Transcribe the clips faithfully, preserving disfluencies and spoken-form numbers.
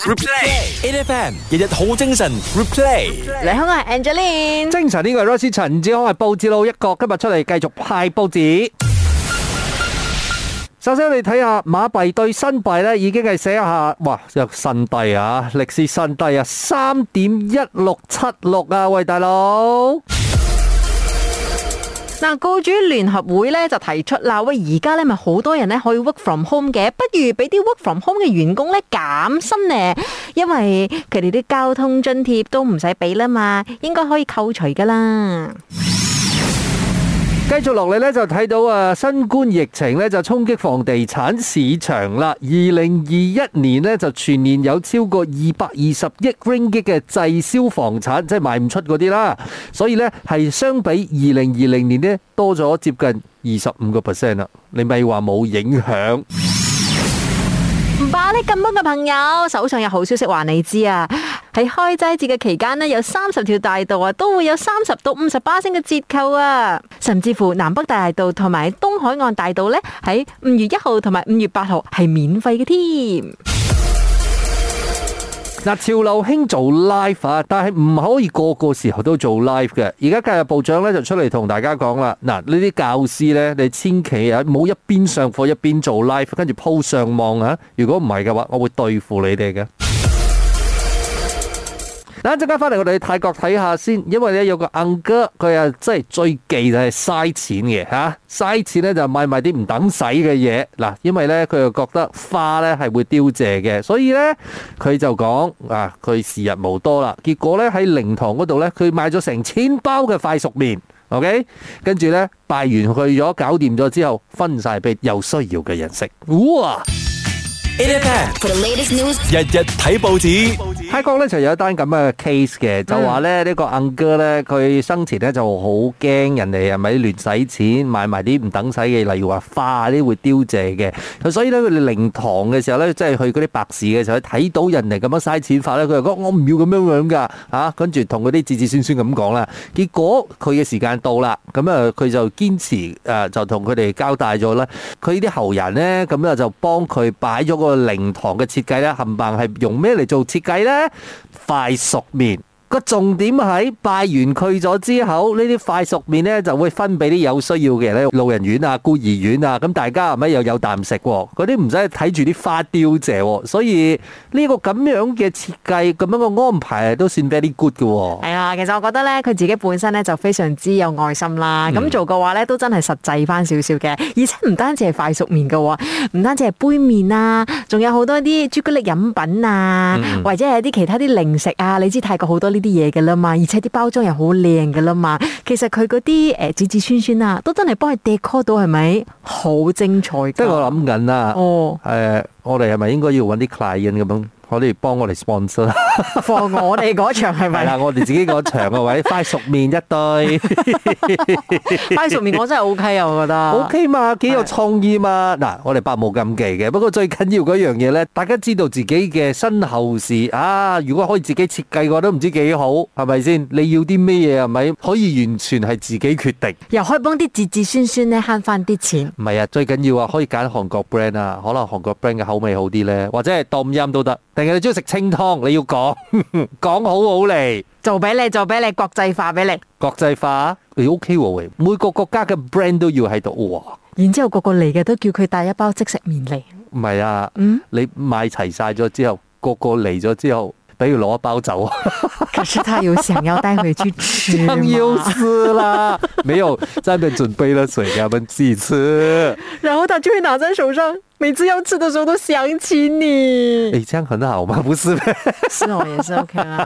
Replay，A F M 日日好精神。Replay， 你好，我係 Angeline。 精神呢個係 Rosie 陳志康，係報紙佬一個，今日出嚟繼續派報紙。首先我哋睇下馬幣對新幣咧，已經係寫下，哇，有新低啊，歷史新低啊，三點一六七六啊，喂大佬。 嗱，僱主聯合會咧就提出啦，喂，而家咧咪好多人咧可以 work from home 嘅，不如俾啲 work from home 嘅員工咧減薪咧，因為佢哋啲交通津貼都唔使俾啦嘛，應該可以扣除噶啦。 繼續落嚟咧，就睇到啊，新冠疫情咧就衝擊房地產市場啦。二零二一年咧就全年有超過二百二十億 ringgit 嘅滯銷房產，即係賣唔出嗰啲啦。所以咧係相比二零二零年咧多咗接近二十五個 percent 啦。你咪話冇影響？ 唔怕呢咁多嘅朋友，手上有好消息話你知啊！喺開齋節嘅期間呢，有三十條大道啊，都會有三十到五十巴仙嘅折扣啊！甚至乎南北大道同埋東海岸大道呢，喺五月一號同埋五月八號係免費嘅添。 嗱，潮流興做 live 啊，但係唔可以個個時候都做 live 嘅。而家教育部長咧就出嚟同大家講啦，嗱，呢啲教師咧，你千祈啊唔好一邊上課一邊做 live，跟住 po 上網啊！如果唔係嘅話，我會對付你哋嘅。嗱，一陣間翻嚟，我哋去泰國睇下先，因為咧有個 uncle 佢啊真係最忌就係嘥錢嘅嚇，嘥錢咧就買埋啲唔等使嘅嘢。嗱，因為咧佢又覺得花咧係會凋謝嘅，所以咧佢就講啊，佢時日無多啦。結果咧喺靈堂嗰度咧，佢買咗成千包嘅快熟麵 ，OK， 跟住咧拜完去咗搞掂咗之後，分晒俾有需要嘅人食。哇 ！A F M， 日日睇報紙。 泰國咧就有一單咁嘅 case 嘅，就話咧呢個 uncle 咧佢生前咧就好驚人哋係咪亂使錢買埋啲唔等使嘅，例如話花啲會凋謝嘅。咁所以咧佢哋靈堂嘅時候咧，即係去嗰啲白事嘅時候，睇到人哋咁樣嘥錢法咧，佢就講我唔要咁樣樣噶嚇，跟住同嗰啲子子孫孫咁講啦。結果佢嘅時間到啦，咁啊佢就堅持誒就同佢哋交代咗啦。佢啲後人咧咁啊就幫佢擺咗個靈堂嘅設計咧，冚唪唥係用咩嚟做設計咧？快熟麵。個重點喺拜完佢咗之後，呢啲快熟麵咧就會分俾啲有需要嘅人咧，老人院啊、孤兒院啊，咁大家係咪又有啖食？嗰啲唔使睇住啲花凋謝，所以呢個咁樣嘅設計、咁樣嘅安排都算 very good 嘅。 係啊，其實我覺得咧，佢自己本身咧就非常之有愛心啦。咁、嗯、做嘅話咧，都真係實際翻少少嘅，而且唔單止係快熟麵嘅，唔單止係杯麵啊，仲有好多啲朱古力飲品啊，嗯、或者係啲其他啲零食啊。你知泰國好多呢啲嘢嘅啦嘛，而且啲包裝又好靚嘅啦嘛。其實佢嗰啲誒子子孫孫啊，都真係幫佢 decor 到，係咪好精彩？ 即係我諗緊啊， 哦， 誒、呃，我哋係咪應該要揾啲 client 咁樣？可以幫我哋 sponsor 放我哋嗰場係咪？ 係啦，我哋自己嗰場嘅位快熟麵一堆， 快熟麵我真係 O K 啊，我覺得 O K 嘛，幾有創意嘛。嗱，我哋百無禁忌嘅，不過最緊要嗰樣嘢咧，大家知道自己嘅身後事啊。如果可以自己設計嘅話，都唔知幾好，係咪先？你要啲咩嘢係咪？可以完全係自己決定， 又可以幫啲子子孫孫咧慳翻啲錢。 唔係啊，最緊要啊，可以揀韓國 brand 啊，可能韓國 brand 嘅口味好啲咧，或者係冬陰都得。定係你中意食清湯？你要講講好好嚟， 做俾你，做俾你，國際化俾你， 國際化你 O K 喎，每個國家嘅 brand 都要喺度哇。 然之後個個嚟嘅都叫佢帶一包即食麵嚟。 唔係啊， 嗯， 你買齊晒咗之後，個個嚟咗之後，比如攞一包走。 可是他有想要帶回去吃嗎？ 當然是啦，沒有在那邊準備了水給他們自己吃， 然後他就會拿在手上，每次要吃的時候都想起你。 誒，這樣很好嗎？不是咩？ 是哦，也是 OK 啦。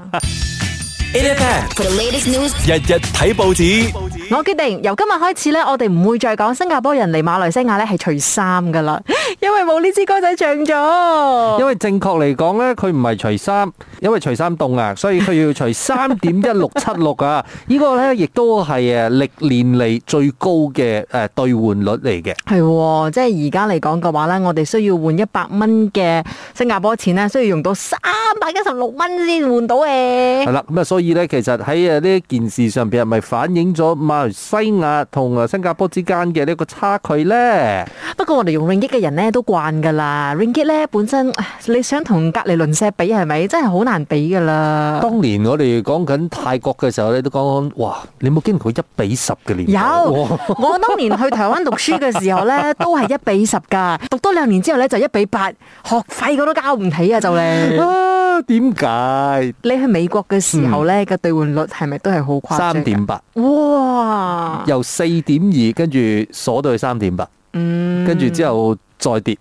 A F M for the latest news， 日日睇報紙。 我決定由今日開始咧，我哋唔會再講新加坡人嚟馬來西亞咧係除衫噶啦，因為冇呢支歌仔唱咗。 因為正確嚟講咧，佢唔係除衫，因為除衫凍啊，所以佢要除三點一六七六啊。呢個咧亦都係誒歷年嚟最高嘅誒兌換率嚟嘅。 係，即係而家嚟講嘅話咧，我哋需要換一百蚊嘅新加坡錢咧，需要用到三百一十六蚊先換到誒。 係啦，咁啊，所以咧，其實喺誒呢件事上邊係咪反映咗馬來西亞同誒新加坡之間嘅呢個差距咧？ 不過我哋用 ringgit 嘅人咧都慣噶啦 ，ringgit 咧本身你想同隔離鄰舍比係咪？真係好難比噶啦。 當年我哋講緊泰國嘅時候咧，都講哇，你冇經過一比十嘅年代。 有，我當年去台灣讀書嘅時候咧，都係一比十噶，讀多兩年之後咧就一比八，學費我都交唔起啊就嚟。 啊，點解？ 你去美國嘅時候咧嘅兌換率係咪都係好誇張？ 三點八。 哇！ 由四點二跟住鎖到去三點八，嗯，跟住之後再跌。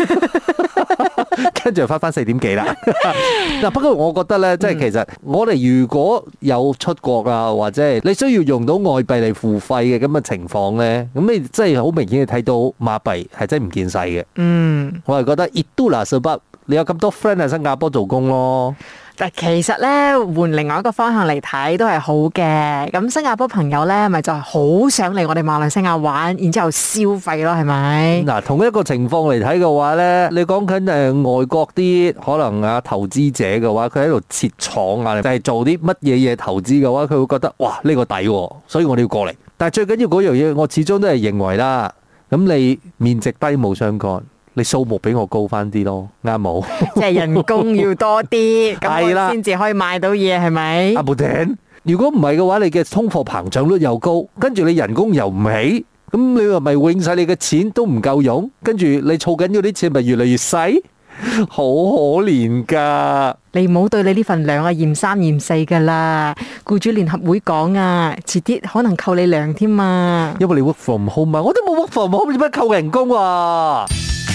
跟住又翻翻四點幾啦。嗱，不過我覺得咧，即係其實我哋如果有出國啊，或者係你需要用到外幣嚟付費嘅咁嘅情況咧，咁你真係好明顯係睇到馬幣係真係唔見使嘅。嗯，我係覺得 Itulah sebab你有咁多 friend 喺新加坡做工咯。 但其實咧，換另外一個方向嚟睇都係好嘅。咁新加坡朋友咧，咪就係好想嚟我哋馬來西亞玩，然之後消費咯，係咪？嗱， 同一個情況嚟睇嘅話咧，你講緊誒外國啲可能啊投資者嘅話，佢喺度設廠啊，就係做啲乜嘢嘢投資嘅話，佢會覺得哇呢個抵喎，所以我哋要過嚟。但係最緊要嗰樣嘢，我始終都係認為啦，咁你面值低冇相干。你數目比我高翻啲咯，啱冇？ 即係人工要多啲，咁我先至可以買到嘢，係咪？ 阿布丁，如果唔係嘅話，你嘅通貨膨脹率又高，跟住你人工又唔起，咁你話咪永世你嘅錢都唔夠用，跟住你儲緊嗰啲錢咪越嚟越細，好可憐噶！ 你唔好對你呢份糧啊嫌三嫌四噶啦，僱主聯合會講啊，遲啲可能扣你糧添啊！ 因為你 work from home 啊，我都冇 work from home，點解扣人工啊？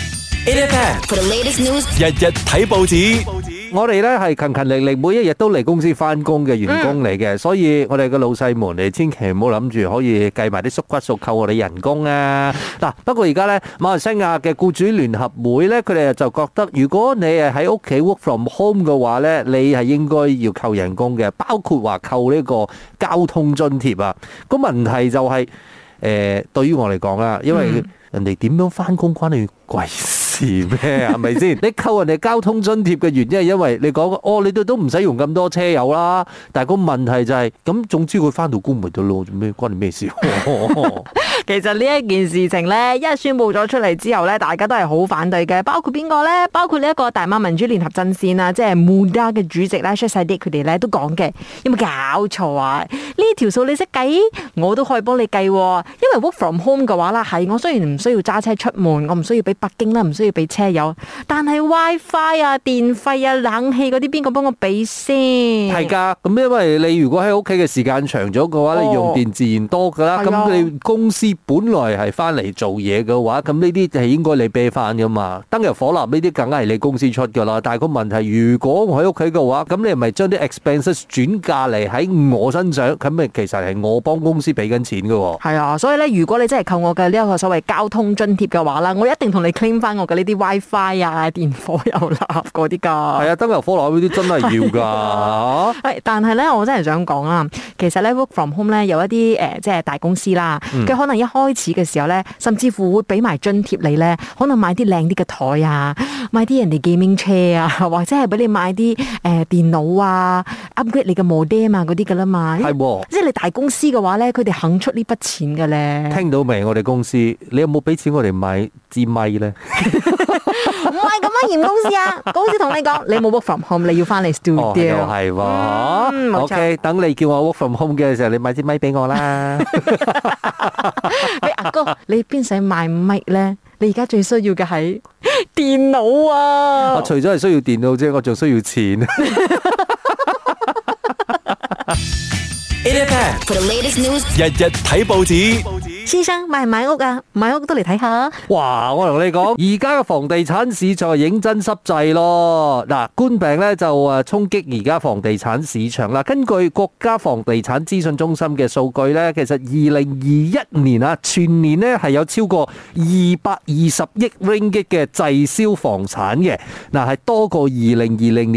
A F M for the latest news， 日日睇報紙。 我哋咧係勤勤力力，每一日都嚟公司翻工嘅員工嚟嘅，所以我哋嘅老細們，你千祈唔好諗住可以計埋啲縮骨數扣我哋人工啊！嗱，不過而家咧馬來西亞嘅僱主聯合會咧，佢哋就覺得，如果你係喺屋企 work from home 嘅話咧，你係應該要扣人工嘅，包括話扣呢個交通津貼啊。個問題就係，誒，對於我嚟講啦，因為人哋點樣翻工關你鬼事咩？係咪先？你扣人哋交通津貼嘅原因係因為你講哦，你哋都唔使用咁多車油啦。但係個問題就係咁，總之佢翻到工咪得咯，做咩關你咩事？ 其實呢一件事情咧，一宣布咗出嚟之後咧，大家都係好反對嘅。包括邊個咧？包括呢一個大馬民主聯合陣線啊，即係 Muda 嘅主席咧 Syed Saddiq 佢哋咧都講嘅。有冇搞錯啊？呢條數你識計，我都可以幫你計。因為 work from home 嘅話啦，係我雖然唔需要揸車出門，我唔需要俾北京啦，唔需要俾車油，但係 WiFi 啊、電費啊、冷氣嗰啲，邊個幫我俾先？ 係噶，咁因為你如果喺屋企嘅時間長咗嘅話，哦、你用電自然多噶啦。咁、啊、你公司本來係翻嚟做嘢嘅話，咁呢啲係應該你俾翻噶嘛。燈油火蠟呢啲梗係你公司出噶啦。但係個問題，如果我喺屋企嘅話，咁你係咪將啲 expenses 轉嫁嚟喺我身上？咁咪其實係我幫公司俾緊錢噶。 係啊，所以咧，如果你真係扣我嘅呢一個所謂交通津貼嘅話啦，我一定同你 claim 翻我嘅呢啲 WiFi 啊、電火油蠟嗰啲噶。係啊，燈油火蠟嗰啲真係要噶。 係，但係咧，我真係想講啊，其實咧 work from home 咧有一啲誒、呃，即係大公司啦，佢、嗯、可能一開始嘅時候咧，甚至乎會俾埋津貼你咧，可能買啲靚啲嘅台啊，買啲人哋 gaming 車啊，或者係俾你買啲誒、呃、電腦啊 ，upgrade 你嘅 modem 啊嗰啲噶啦嘛。係喎，即係你大公司嘅話咧，佢哋肯出呢筆錢嘅咧。 聽到未？我哋公司，你有冇俾錢我哋買支咪咧？ 唔係咁樣嫌公司啊！公司同你講，你冇 work from home，你要翻嚟 studio。 哦，又係喎。嗯，冇錯。OK，等你叫我 work from home 嘅時候，你買支咪俾我啦。 喂，阿哥，你邊使買咪咧？你而家最需要嘅係電腦啊！ 我除咗係需要電腦啫，我仲需要錢。 A F M for the latest news， 日日睇報紙。 先生買唔買屋啊？買屋都嚟睇下。 哇！我同你講，而家嘅房地產市場係認真濕滯咯。嗱，冠病咧就誒衝擊而家房地產市場啦。根據國家房地產資訊中心嘅數據咧，其實二零二一年啊，全年咧係有超過二百二十億 ringgit 嘅滯銷房產嘅。嗱，係多過二零二零年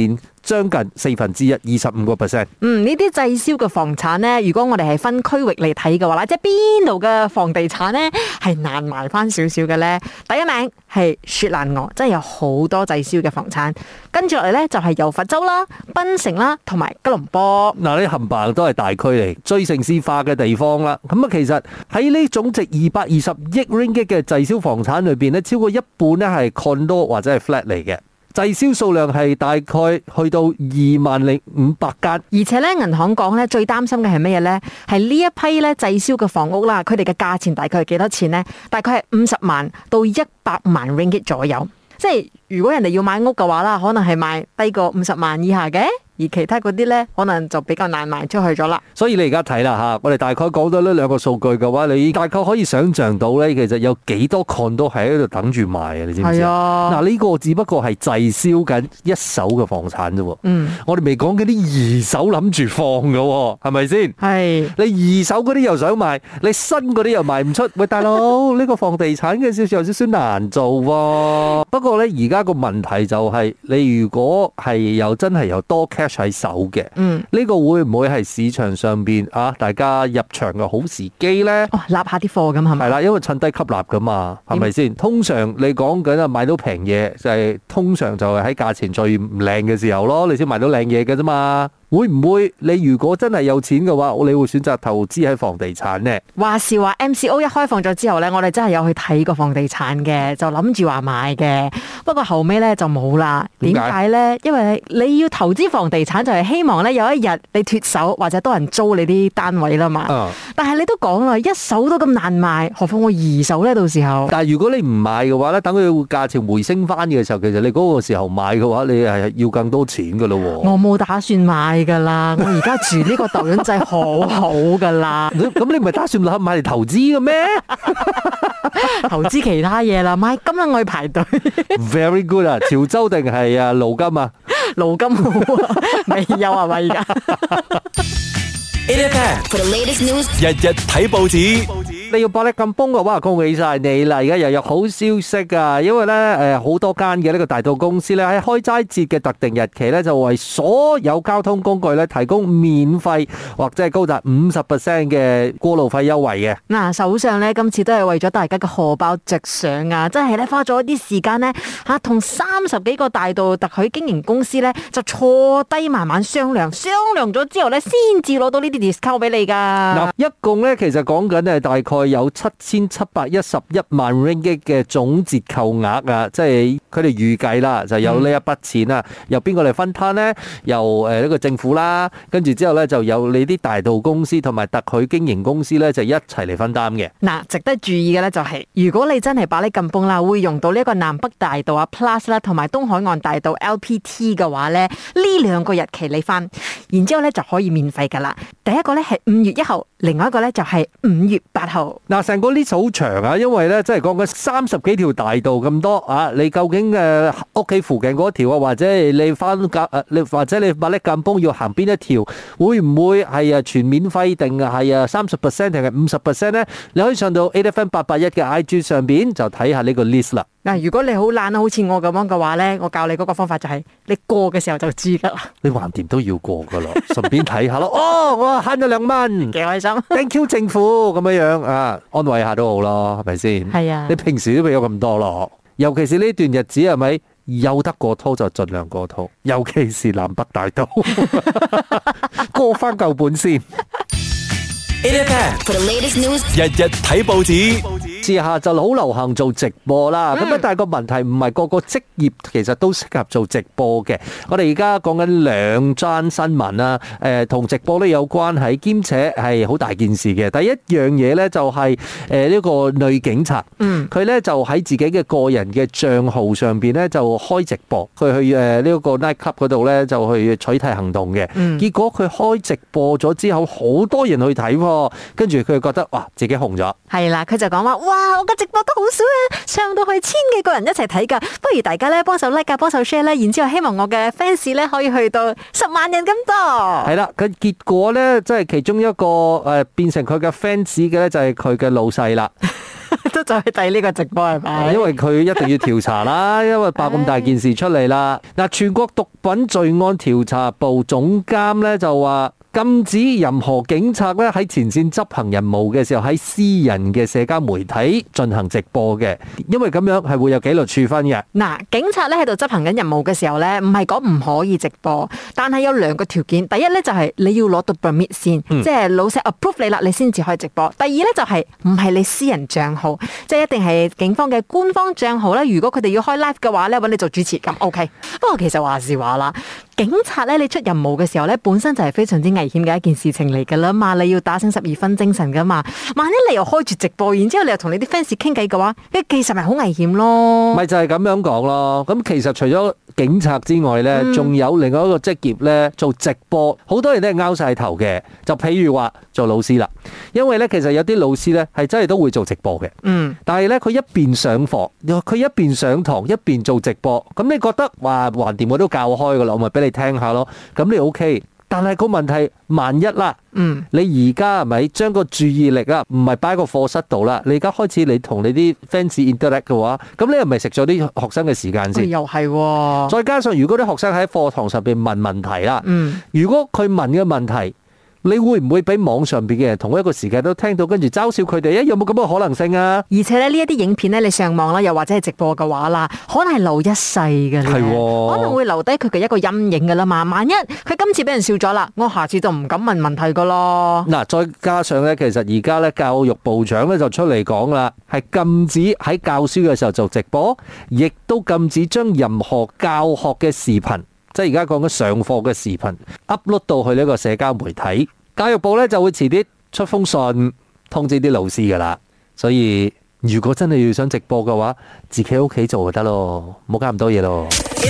將近四分之一，二十五個 percent。 嗯，呢啲滯銷嘅房產呢，如果我哋係分區域嚟睇嘅話啦，即係邊度嘅房地產呢係難賣翻少少嘅呢？第一名係雪蘭莪，真係有好多滯銷嘅房產。跟住落嚟呢，就係由佛州啦、檳城啦同埋吉隆坡。 嗱，呢冚唪唥都係大區嚟，最城市化嘅地方啦。咁啊，其實喺呢總值二百二十億 ringgit 嘅滯銷房產裏邊呢，超過一半呢係 condo 或者係 flat 嚟嘅。滯銷數量係大概去到二萬零五百間， 而且咧銀行講咧最擔心嘅係乜嘢咧？係呢一批咧滯銷嘅房屋啦，佢哋嘅價錢大概係幾多錢呢？大概係五十萬到一百萬 ringgit 左右。即係如果人哋要買屋嘅話啦，可能係賣低過五十萬以下嘅。而其他嗰啲咧，可能就比較難賣出去咗啦。 所以你而家睇啦嚇，我哋大概講到呢兩個數據嘅話，你大概可以想像到咧，其實有幾多 condo 喺度等住賣啊？你知唔知啊？嗱，呢個只不過係滯銷緊一手嘅房產啫喎。嗯，我哋未講緊啲二手諗住放嘅喎，係咪先？係。你二手嗰啲又想賣，你新嗰啲又賣唔出。喂，大佬，呢個房地產嘅少少有少少難做喎。不過咧，而家個問題就係，你如果係有真係有多cash喺手嘅，嗯，呢個會唔會係市場上邊啊？大家入場嘅好時機咧？ 哦，立下啲貨咁係咪？ 係啦，因為趁低吸納噶嘛，係咪先？通常你講緊啊，買到平嘢就係通常就係喺價錢最唔靚嘅時候咯，你先買到靚嘢嘅啫嘛。會唔會你如果真係有錢嘅話，你會選擇投資喺房地產呢？ 話是話 M C O 一開放咗之後呢，我哋真係有去睇過房地產嘅，就諗住話買嘅。不過後尾呢就冇啦。點解呢？因為你要投資房地產就係希望呢有一日你脫手或者多人租你啲單位啦嘛。嗯、但係你都講啦，一手都咁難賣，何況我二手呢？到時候。 但係如果你唔買嘅話呢，等佢價錢回升翻嘅時候，其實你嗰個時候買嘅話，你係要更多錢噶咯。 我冇打算買噶啦，我而家住呢個豆潤仔好好噶啦。 咁你唔係打算買買嚟投資嘅咩？ 投資其他嘢啦，買金啦，我去排隊。 Very good 啊，潮州定係啊盧金啊？ 盧金好啊，未有啊嘛而家。 A F M for the latest news， 日日睇報紙。 你要百力咁崩嘅話，恭喜晒你啦！而家又有好消息啊，因為咧誒好多間嘅呢個大道公司咧喺開齋節嘅特定日期咧，就為所有交通工具咧提供免費或者係高達五十 percent 嘅過路費優惠嘅。嗱， 首相咧今次都係為咗大家嘅荷包着想啊，真係咧花咗一啲時間咧嚇，同三十幾個大道特許經營公司咧就坐低慢慢商量，商量咗之後咧先至攞到呢啲 discount 俾你㗎。 嗱，一共咧其實講緊係大概有七千七百一十一萬 ringgit 嘅總折扣額啊，即係佢哋預計啦，就有呢一筆錢啊，由邊個嚟分攤呢？由誒呢個政府啦，跟住之後咧就有你啲大道公司同埋特許經營公司咧就一齊嚟分擔嘅。嗱， 值得注意嘅咧就係，如果你真係百力咁崩啦，會用到呢一個南北大道啊 Plus 啦，同埋東海岸大道 L P T 嘅話咧，呢兩個日期你翻，然之後咧就可以免費噶啦。第一個咧係五月一號，另外一個咧就係五月八號。 嗱，成個 list 好長啊，因為咧即係講緊三十幾條大道咁多啊，你究竟誒屋企附近嗰條啊，或者你翻夾誒，你或者你百力咁崩要行邊一條，會唔會係啊全免費定係啊三十 percent 定係五十 percent 咧？你可以上到 A F M 八八一嘅 I G 上邊就睇下呢個 list 啦。 嗱，如果你好懶啊，好似我咁樣嘅話咧，我教你嗰個方法就係你過嘅時候就知噶啦。 你橫掂都要過噶咯，順便睇下咯。哦，我慳咗兩蚊， 幾開心。 Thank you 政府咁樣樣啊，安慰下都好咯，係咪先？係啊。你平時都俾咗咁多咯，尤其是呢段日子係咪有得過濤就盡量過濤，尤其是南北大道過翻舊本先。 A F M for the latest news， 日日睇報紙。 時下就好流行做直播啦，咁啊、嗯，但係個問題唔係個個職業其實都適合做直播嘅。我哋而家講緊兩單新聞啦，誒、呃，同直播都有關係，兼且係好大件事嘅。第一樣嘢咧就係誒呢個女警察，嗯，佢咧就喺自己嘅個人嘅賬號上邊咧就開直播，佢去誒呢個 night club 嗰度咧就去取締行動嘅。嗯，結果佢開直播咗之後，好多人去睇，跟住佢覺得哇自己紅咗。 係啦，佢就講話哇，我嘅直播都好少啊，上到去千幾個人一齊睇噶，不如大家咧幫手 like 啊，幫手 share 咧，然之後希望我嘅 fans 咧可以去到十萬人咁多。係啦，佢結果咧即係其中一個誒變成佢嘅 fans 嘅咧就係佢嘅老細啦。 都就去睇呢個直播係咪？ 因為佢一定要調查啦，因為爆咁大件事出嚟啦。嗱，全國毒品罪案調查部總監咧就話，禁止任何警察咧喺前線執行任務嘅時候喺私人嘅社交媒體進行直播嘅，因為咁樣係會有紀律處分嘅。 嗱，警察咧喺度執行緊任務嘅時候咧，唔係講唔可以直播，但係有兩個條件。第一咧就係你要攞到 permit 先，嗯、即係老細 approve 你啦，你先至可以直播。第二咧就係唔係你私人賬號，即係一定係警方嘅官方賬號啦。如果佢哋要開 live 嘅話咧，揾你做主持咁 OK。不過其實話是話啦。警察咧，你出任務嘅時候咧，本身就係非常之危險嘅一件事情嚟噶啦嘛，你要打醒十二分精神噶嘛。萬一你又開住直播，然之後你又同你啲 fans 傾偈嘅話，呢其實咪好危險咯。 咪就係咁樣講咯。咁其實除咗警察之外咧，仲、嗯、有另外一個職業咧，做直播，好多人都係拗晒頭嘅。就譬如話做老師啦，因為咧其實有啲老師咧係真係都會做直播嘅。嗯。但係咧佢一邊上課，佢一邊上堂，一邊做直播。咁你覺得話橫掂我都教開噶啦，我咪俾你聽下咯，咁你 OK，但係個問題，萬一啦，嗯，你而家係咪將個注意力啊，唔係擺喺個課室度啦，你而家開始你同你啲 fans interact 嘅話，咁你係咪食咗啲學生嘅時間先？ 又係喎， 再加上如果啲學生喺課堂上邊問問題啦，嗯，如果佢問嘅問題，你會唔會俾網上邊嘅人同一個時間都聽到，跟住嘲笑佢哋？有冇咁嘅可能性啊？ 而且咧呢一啲影片咧，你上網啦，又或者係直播嘅話啦，可能係留一世嘅，係、哦，可能會留低佢嘅一個陰影噶啦嘛。萬一佢今次俾人笑咗啦，我下次就唔敢問問題噶咯。嗱，再加上咧，其實而家咧教育部長咧就出嚟講啦，係禁止喺教書嘅時候做直播，亦都禁止將任何教學嘅視頻。即係而家講緊上課嘅視頻 upload 到去呢個社交媒體，教育部咧就會遲啲出封信通知啲老師噶啦。所以如果真係要想直播嘅話，自己喺屋企做就得咯，唔好搞咁多嘢咯。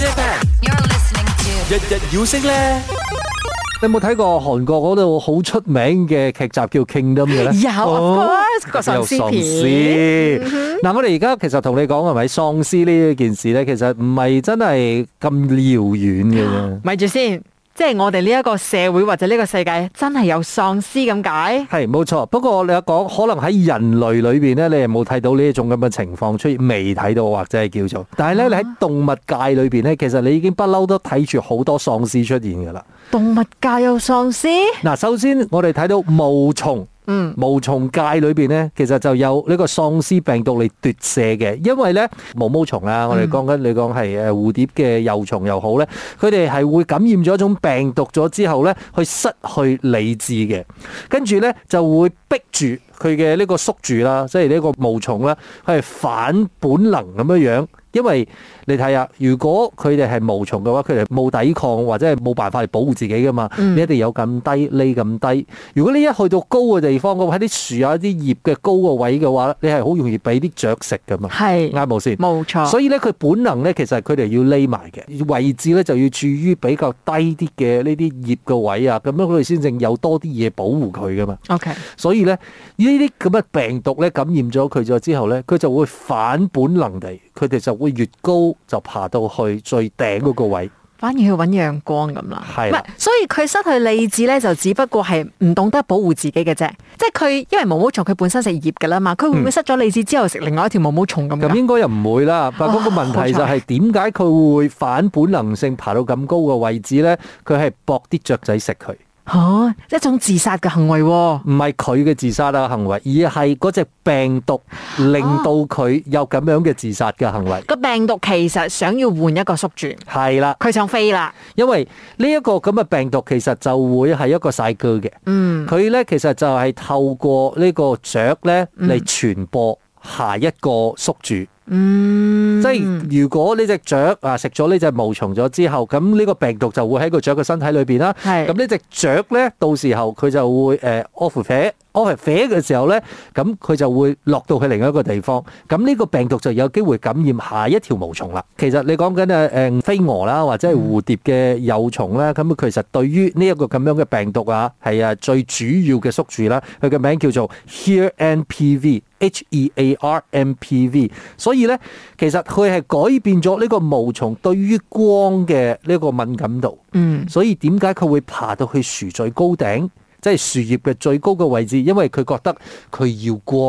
日日要升咧。 你有冇睇過韓國嗰度好出名嘅劇集叫 Kingdom 嘅咧？ 有，哦、個喪屍片。 嗱，我哋而家其實同你講係咪喪屍呢件事咧？其實唔係真係咁遙遠嘅啫。咪住先。即係我哋呢一個社會或者呢個世界真係有喪屍咁解？係冇錯，不過你有講可能喺人類裏邊咧，你係冇睇到呢一種咁嘅情況出現，未睇到或者係叫做。但係咧，你喺動物界裏邊咧，其實你已經不嬲都睇住好多喪屍出現噶啦。動物界有喪屍？嗱，首先我哋睇到毛蟲。嗯，毛蟲界裏邊咧，其實就有呢個喪屍病毒嚟奪舍嘅，因為咧毛毛蟲啊，我哋講緊你講係誒蝴蝶嘅幼蟲又好咧，佢哋係會感染咗一種病毒咗之後咧，去失去理智嘅，跟住咧就會逼住佢嘅呢個宿主啦，即係呢個毛蟲啦，佢係反本能咁樣樣。因為你睇下，如果佢哋係毛蟲嘅話，佢哋冇抵抗或者係冇辦法嚟保護自己噶嘛，嗯、你一定有咁低匿咁低。如果你一去到高嘅地方，喺啲樹啊、啲葉嘅高個位嘅話，你係好容易俾啲雀食噶嘛。係啱冇先？冇錯。所以咧，佢本能咧，其實佢哋要匿埋嘅位置咧，就要處於比較低啲嘅呢啲葉嘅位啊，咁樣佢哋先正有多啲嘢保護佢噶嘛。OK。所以咧，呢啲咁嘅病毒咧感染咗佢咗之後咧，佢就會反本能地，佢哋就會越高就爬到去最頂嗰個位，反而去揾陽光咁啦。係，唔係，所以佢失去理智咧，就只不過係唔懂得保護自己嘅啫。即係佢因為毛毛蟲佢本身食葉噶啦嘛，佢會唔會失咗理智之後食另外一條毛毛蟲咁？咁、嗯、應該又唔會啦。不過嗰個問題就係點解佢會反本能性爬到咁高嘅位置咧？佢係搏啲雀仔食佢。吓、啊，一種自殺嘅行為、啊，唔係佢嘅自殺嘅行為，而係嗰隻病毒令到佢有咁樣嘅自殺嘅行為。個、啊、病毒其實想要換一個宿主，係啦，佢想飛啦。因為呢一個咁嘅病毒其實就會係一個細菌嘅，嗯，佢咧其實就係透過呢個雀咧嚟傳播下一個宿主。嗯，即係如果呢隻雀啊食咗呢隻毛蟲咗之後，咁呢個病毒就會喺個雀嘅身體裏邊啦。係，咁呢隻雀咧，到時候佢就會誒 off 飛 off 飛嘅時候咧，咁佢就會落到去另一個地方。咁呢個病毒就有機會感染下一條毛蟲啦。其實你講緊誒誒飛蛾啦，或者係蝴蝶嘅幼蟲咧，咁其實對於呢一個咁樣嘅病毒啊，係啊最主要嘅宿主啦。佢嘅名叫做 H E R M P V，H E A R M P V。所以咧，其實佢係改變咗呢個毛蟲對於光嘅呢個敏感度。嗯，所以點解佢會爬到去樹最高頂，即係樹葉嘅最高嘅位置？因為佢覺得佢要光。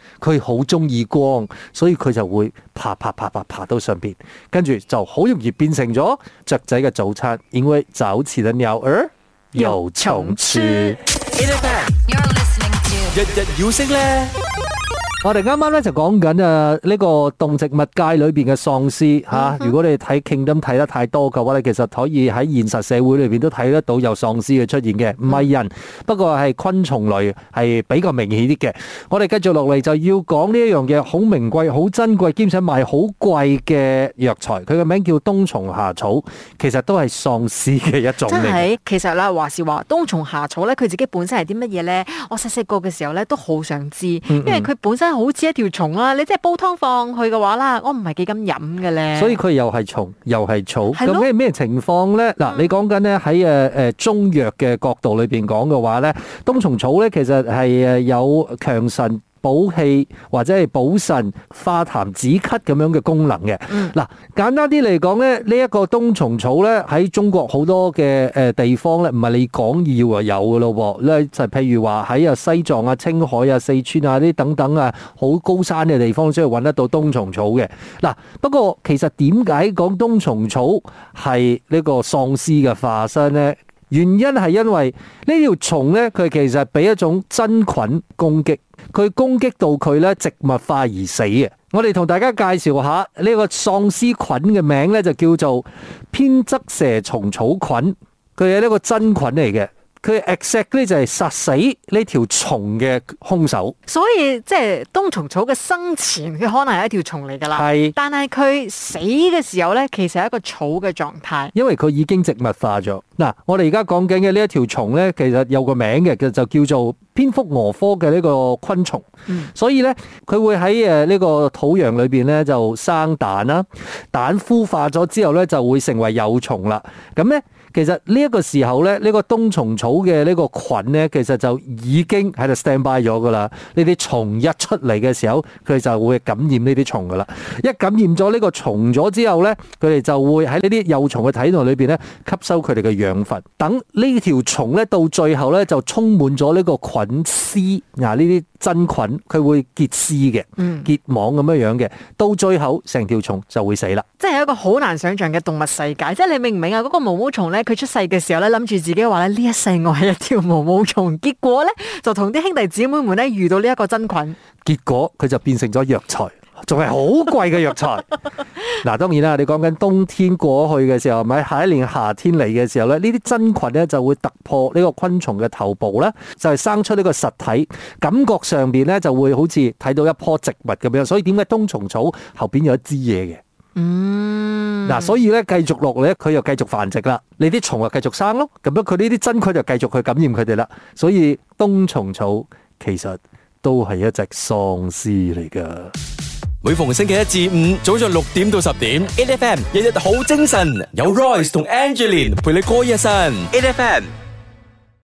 佢好中意光，所以佢就會爬爬爬爬爬到上邊，跟住就好容易變成咗雀仔嘅早餐，因為早起的鳥兒有蟲吃。 日日要升咧。 我哋啱啱咧就講緊啊呢個動植物界裏邊嘅喪屍吓，如果你睇 Kingdom 睇得太多嘅話咧，其實可以喺現實社會裏邊都睇得到有喪屍嘅出現嘅，唔係人，不過係昆蟲類係比較明顯啲嘅。我哋繼續落嚟就要講呢一樣嘢，好名貴、好珍貴，兼且賣好貴嘅藥材，佢嘅名叫冬蟲夏草，其實都係喪屍嘅一種嚟。 真係，其實啦，話是話冬蟲夏草咧，佢自己本身係啲乜嘢咧？我細細個嘅時候咧都好想知，因為佢本身好似一條蟲啦，你即係煲湯放去嘅話啦，我唔係幾咁飲嘅咧。 所以佢又係蟲又係草， 咁係咩情況咧？嗱、嗯，你講緊咧喺誒誒中藥嘅角度裏邊講嘅話咧，冬蟲草咧其實係誒有強腎補氣或者係補腎、化痰止咳咁樣嘅功能嘅。嗱、嗯，簡單啲嚟講咧，呢、這、一個冬蟲草咧喺中國好多嘅誒地方咧，唔係你講要啊有噶咯，咧就譬如話喺啊西藏啊、青海啊、四川啊呢等等啊好高山嘅地方先係揾得到冬蟲草嘅。嗱，不過其實點解講冬蟲草係呢個喪屍嘅化身咧？原因係因為呢條蟲咧，佢其實俾一種真菌攻擊，佢攻擊到佢咧植物化而死嘅。我哋同大家介紹下呢個喪屍菌嘅名咧，就叫做偏側蛇蟲草菌，佢係呢個真菌嚟嘅。佢 exactly 就係殺死呢條蟲嘅兇手， 所以即係冬蟲草嘅生前，佢可能係一條蟲嚟噶啦。係，但係佢死嘅時候咧，其實係一個草嘅狀態，因為佢已經植物化咗。嗱，我哋而家講緊嘅呢一條蟲咧，其實有個名嘅，就叫做蝙蝠蛾科嘅呢個昆蟲。嗯，所以咧，佢會喺誒呢個土壤裏邊咧就生蛋啦，蛋孵化咗之後咧就會成為幼蟲啦。咁咧。其實呢一個時候咧，呢個冬蟲草嘅呢個菌咧，其實就已經喺度 stand by 咗噶啦。呢啲蟲一出嚟嘅時候，佢就會感染呢啲蟲噶啦。一感染咗呢個蟲咗之後咧，佢哋就會喺呢啲幼蟲嘅體內裏邊咧吸收佢哋嘅養分。等呢條蟲咧到最後咧就充滿咗呢個菌絲，嗱呢啲真菌佢會結絲嘅，結網咁樣樣嘅，到最後成條蟲就會死啦。 即係一個好難想象嘅動物世界，即係你明唔明啊？嗰個毛毛蟲咧。佢出世嘅時候咧，諗住自己話咧呢一世我係一條毛毛蟲，結果咧就同啲兄弟姊妹們咧遇到呢一個真菌， 結果佢就變成咗藥材，仲係好貴嘅藥材。嗱，當然啦，你講緊冬天過去嘅時候，咪下一年夏天嚟嘅時候咧，呢啲真菌咧就會突破呢個昆蟲嘅頭部咧，就係生出呢個實體，感覺上邊咧就會好似睇到一棵植物咁樣。所以點解冬蟲草後邊有一支嘢嘅？嗯，嗱，所以咧繼續落嚟咧，佢又繼續繁殖啦，你啲蟲又繼續生咯，咁樣佢呢啲真菌就繼續去感染佢哋啦。所以冬蟲草其實都係一隻喪屍嚟噶。 每逢星期一至五早上六點到十點 ，A F M 日日好精神，有 Royce 同 Angeline 陪你過一晨 ，A F M。